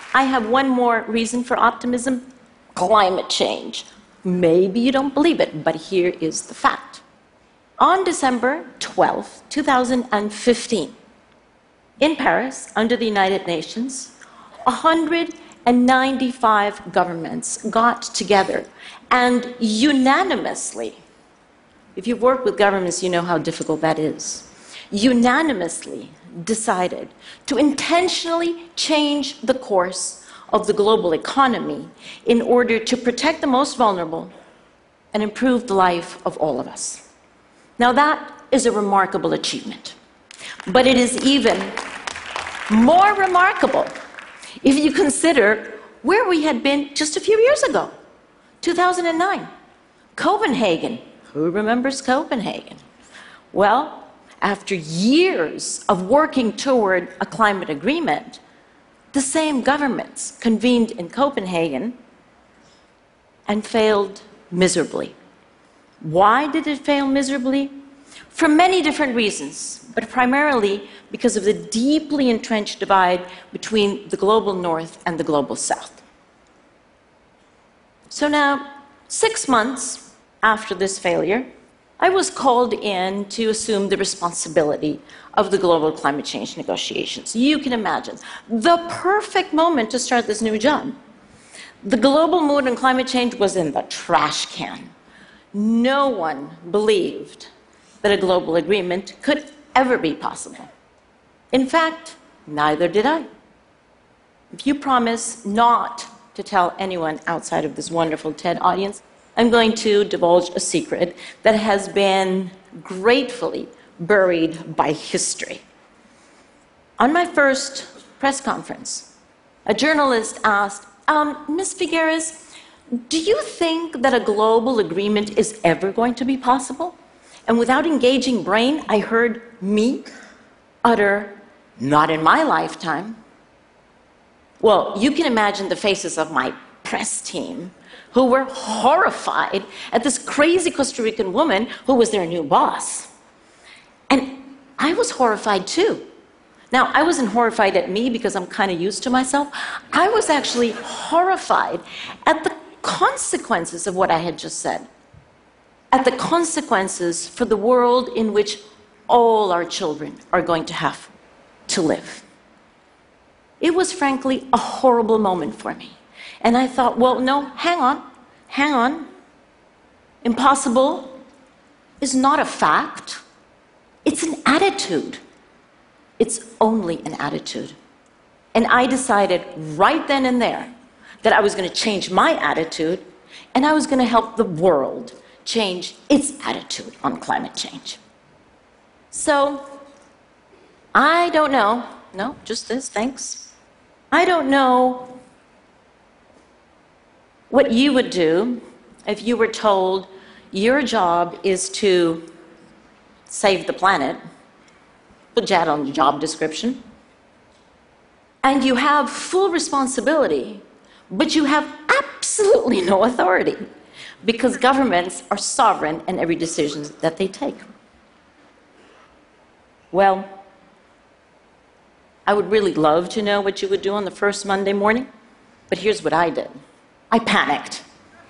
I have one more reason for optimism: climate change. Maybe you don't believe it, but here is the fact. On December 12, 2015, in Paris, under the United Nations, 195 governments got together and unanimously, if you've worked with governments, you know how difficult that is, unanimously decided to intentionally change the course of the global economy in order to protect the most vulnerable and improve the life of all of us. Now that is a remarkable achievement, but it is even more remarkable if you consider where we had been just a few years ago. 2009, Copenhagen. Who remembers Copenhagen? Well, after years of working toward a climate agreement, the same governments convened in Copenhagen and failed miserably. Why did it fail miserably? For many different reasons, but primarily because of the deeply entrenched divide between the global north and the global south. So now, 6 months after this failure, I was called in to assume the responsibility of the global climate change negotiations. You can imagine, the perfect moment to start this new job. The global mood on climate change was in the trash can. No one believed that a global agreement could ever be possible. In fact, neither did I. If you promise not to tell anyone outside of this wonderful TED audience, I'm going to divulge a secret that has been gratefully buried by history. On my first press conference, a journalist asked, Ms. Figueres, do you think that a global agreement is ever going to be possible? And without engaging brain, I heard me utter, not in my lifetime. Well, you can imagine the faces of my press team who were horrified at this crazy Costa Rican woman who was their new boss. And I was horrified too. Now, I wasn't horrified at me because I'm kind of used to myself. I was actually horrified at the consequences of what I had just said, at the consequences for the world in which all our children are going to have to live. It was frankly a horrible moment for me. And I thought, well, no, hang on. Impossible is not a fact. It's an attitude. It's only an attitude. And I decided right then and there that I was going to change my attitude, and I was going to help the world change its attitude on climate change. So, I don't know. No, just this, thanks. I don't know what you would do if you were told your job is to save the planet. Put that on your job description. And you have full responsibility, but you have absolutely no authority because governments are sovereign in every decision that they take. Well, I would really love to know what you would do on the first Monday morning, but here's what I did. I panicked.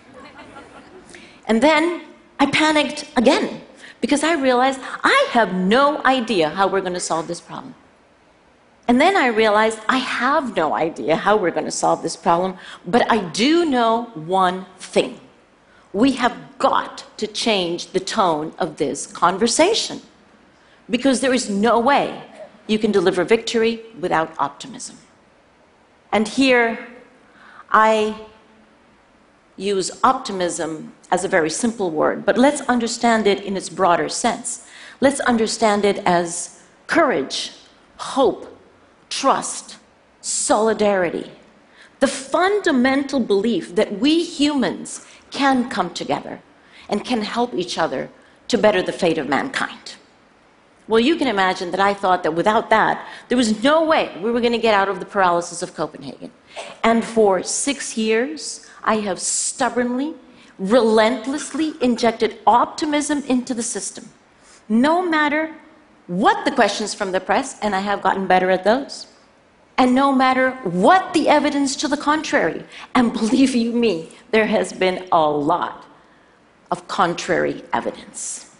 And then I panicked again because I realized I have no idea how we're going to solve this problem. And then I realized I have no idea how we're going to solve this problem, but I do know one thing. We have got to change the tone of this conversation because there is no way you can deliver victory without optimism. And here I use optimism as a very simple word, but let's understand it in its broader sense. Let's understand it as courage, hope, trust, solidarity, the fundamental belief that we humans can come together and can help each other to better the fate of mankind. Well, you can imagine that I thought that without that, there was no way we were going to get out of the paralysis of Copenhagen. And for 6 years, I have stubbornly, relentlessly injected optimism into the system, no matter what the questions from the press, and I have gotten better at those. And no matter what the evidence to the contrary, and believe you me, there has been a lot of contrary evidence.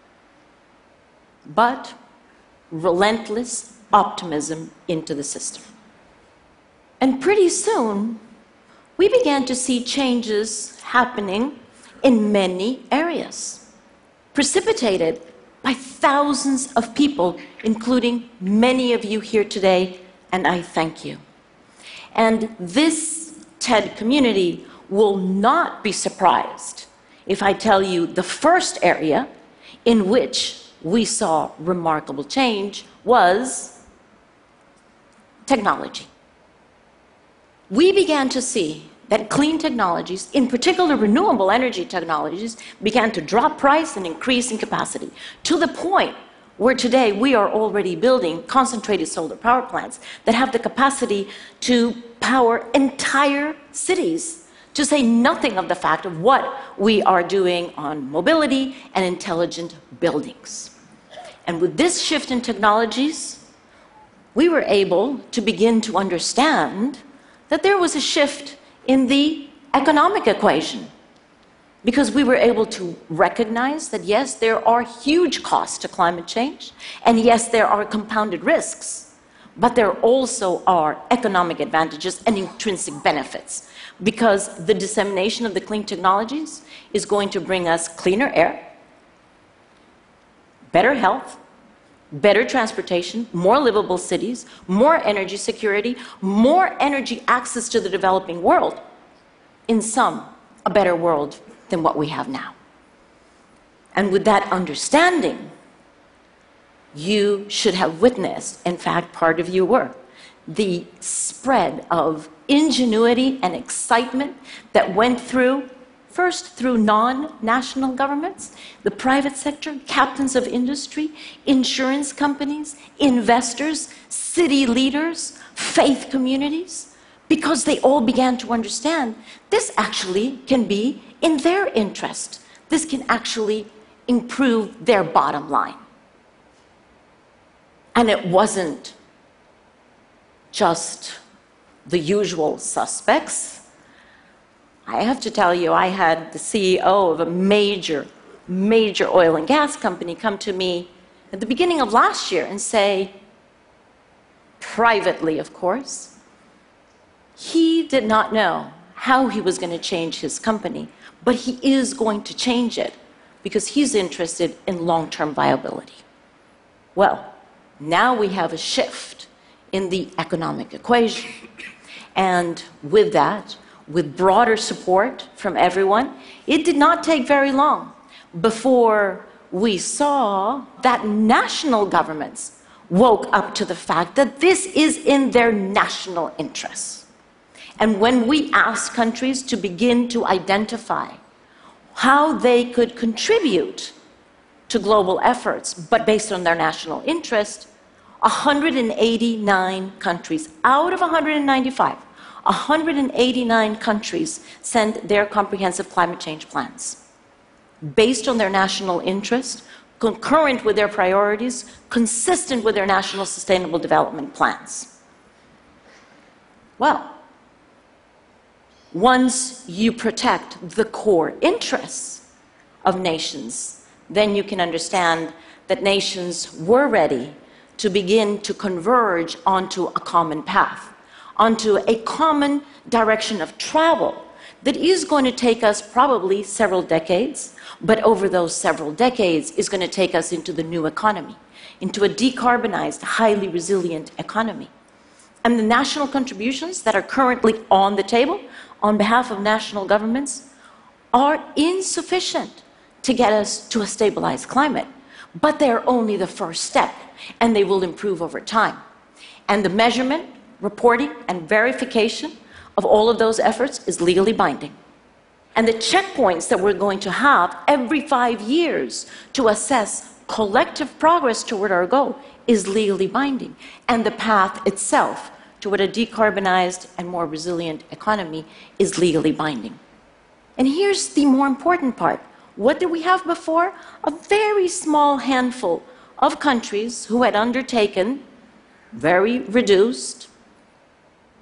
But relentless optimism into the system. And pretty soon, we began to see changes happening in many areas, precipitated by thousands of people, including many of you here today, and I thank you. And this TED community will not be surprised if I tell you the first area in which we saw remarkable change was technology. We began to see that clean technologies, in particular renewable energy technologies, began to drop price and increase in capacity, to the point where today we are already building concentrated solar power plants that have the capacity to power entire cities, to say nothing of the fact of what we are doing on mobility and intelligent buildings. And with this shift in technologies, we were able to begin to understand that there was a shift in the economic equation, because we were able to recognize that yes, there are huge costs to climate change, and yes, there are compounded risks, but there also are economic advantages and intrinsic benefits, because the dissemination of the clean technologies is going to bring us cleaner air, better health, better transportation, more livable cities, more energy security, more energy access to the developing world. In sum, a better world than what we have now. And with that understanding, you should have witnessed, in fact, part of you were, the spread of ingenuity and excitement that went through, first through non-national governments, the private sector, captains of industry, insurance companies, investors, city leaders, faith communities, because they all began to understand this actually can be in their interest. This can actually improve their bottom line. And it wasn't just the usual suspects. I have to tell you, I had the CEO of a major oil and gas company come to me at the beginning of last year and say, privately, of course, he did not know how he was going to change his company, but he is going to change it because he's interested in long-term viability. Well, now we have a shift in the economic equation. And with that, with broader support from everyone, it did not take very long before we saw that national governments woke up to the fact that this is in their national interests. And when we asked countries to begin to identify how they could contribute to global efforts, but based on their national interest, 189 countries out of 195, 189 countries sent their comprehensive climate change plans based on their national interest, concurrent with their priorities, consistent with their national sustainable development plans. Well, once you protect the core interests of nations, then you can understand that nations were ready to begin to converge onto a common path, onto a common direction of travel that is going to take us probably several decades, but over those several decades is going to take us into the new economy, into a decarbonized, highly resilient economy. And the national contributions that are currently on the table on behalf of national governments are insufficient to get us to a stabilized climate, but they're only the first step, and they will improve over time. And the measurement, reporting, and verification of all of those efforts is legally binding. And the checkpoints that we're going to have every 5 years to assess collective progress toward our goal is legally binding. And the path itself toward a decarbonized and more resilient economy is legally binding. And here's the more important part. What did we have before? A very small handful of countries who had undertaken very reduced,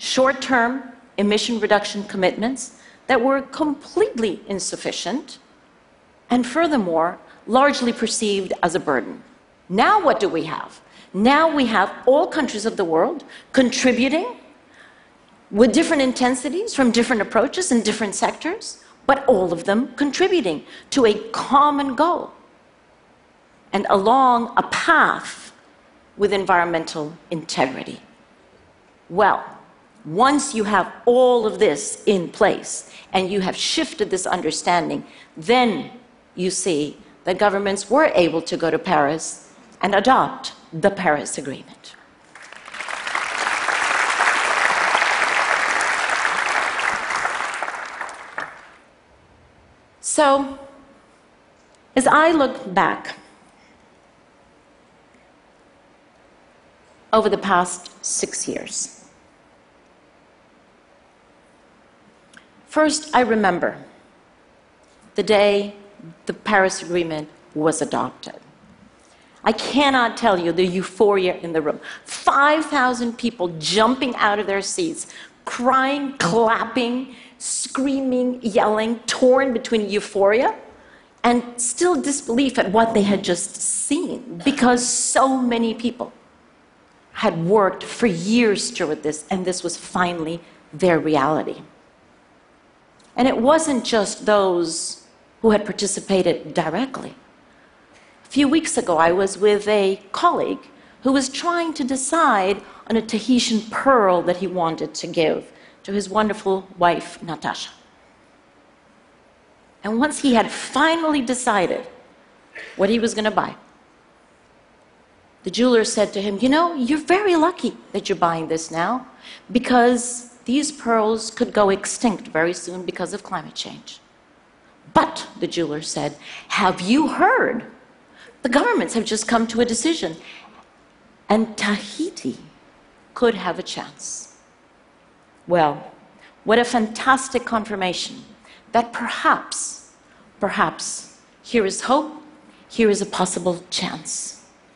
short-term emission reduction commitments that were completely insufficient and furthermore largely perceived as a burden. Now what do we have? Now we have all countries of the world contributing with different intensities from different approaches in different sectors, but all of them contributing to a common goal and along a path with environmental integrity. Well, once you have all of this in place and you have shifted this understanding, then you see that governments were able to go to Paris and adopt the Paris Agreement. So, as I look back over the past 6 years, first I remember the day the Paris Agreement was adopted. I cannot tell you the euphoria in the room. 5,000 people jumping out of their seats, crying, clapping, screaming, yelling, torn between euphoria and still disbelief at what they had just seen, because so many people had worked for years toward this, and this was finally their reality. And it wasn't just those who had participated directly. A few weeks ago, I was with a colleague who was trying to decide on a Tahitian pearl that he wanted to give to his wonderful wife, Natasha. And once he had finally decided what he was going to buy, the jeweler said to him, "You know, you're very lucky that you're buying this now, because these pearls could go extinct very soon because of climate change." "But," the jeweler said, "have you heard? The governments have just come to a decision, and Tahiti could have a chance." Well, what a fantastic confirmation that perhaps, here is hope, here is a possible chance.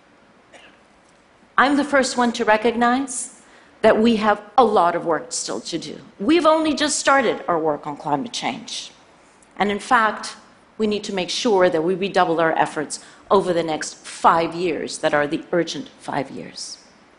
I'm the first one to recognize that we have a lot of work still to do. We've only just started our work on climate change. And in fact, we need to make sure that we redouble our efforts over the next 5 years that are the urgent 5 years.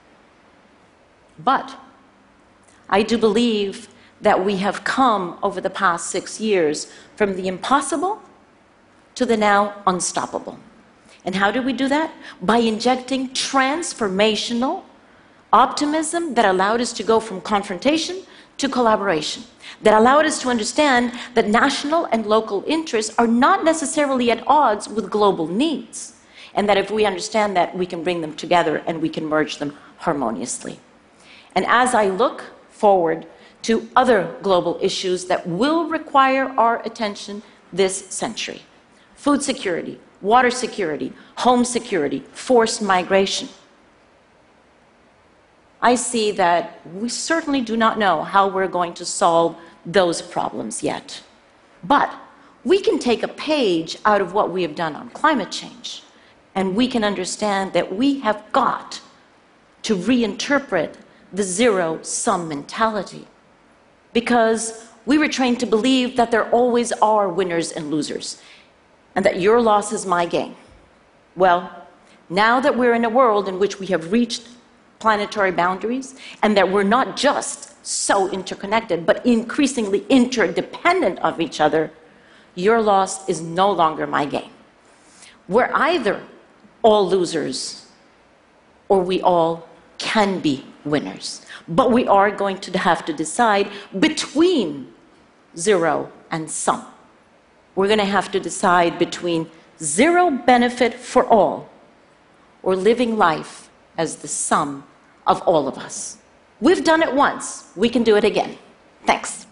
But I do believe that we have come over the past 6 years from the impossible to the now unstoppable. And how do we do that? By injecting transformational optimism that allowed us to go from confrontation to collaboration, that allowed us to understand that national and local interests are not necessarily at odds with global needs, and that if we understand that, we can bring them together and we can merge them harmoniously. And as I look forward to other global issues that will require our attention this century, food security, water security, home security, forced migration, I see that we certainly do not know how we're going to solve those problems yet. But we can take a page out of what we have done on climate change, and we can understand that we have got to reinterpret the zero-sum mentality, because we were trained to believe that there always are winners and losers, and that your loss is my gain. Well, now that we're in a world in which we have reached planetary boundaries, and that we're not just so interconnected, but increasingly interdependent of each other, your loss is no longer my gain. We're either all losers, or we all can be winners. But we are going to have to decide between zero and some. We're going to have to decide between zero benefit for all, or living life as the sum of all of us. We've done it once. We can do it again. Thanks.